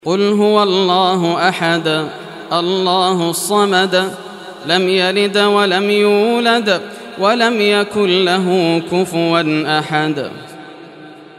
قل هو الله أحد الله الصمد لم يلد ولم يولد ولم يكن له كفوا أحد.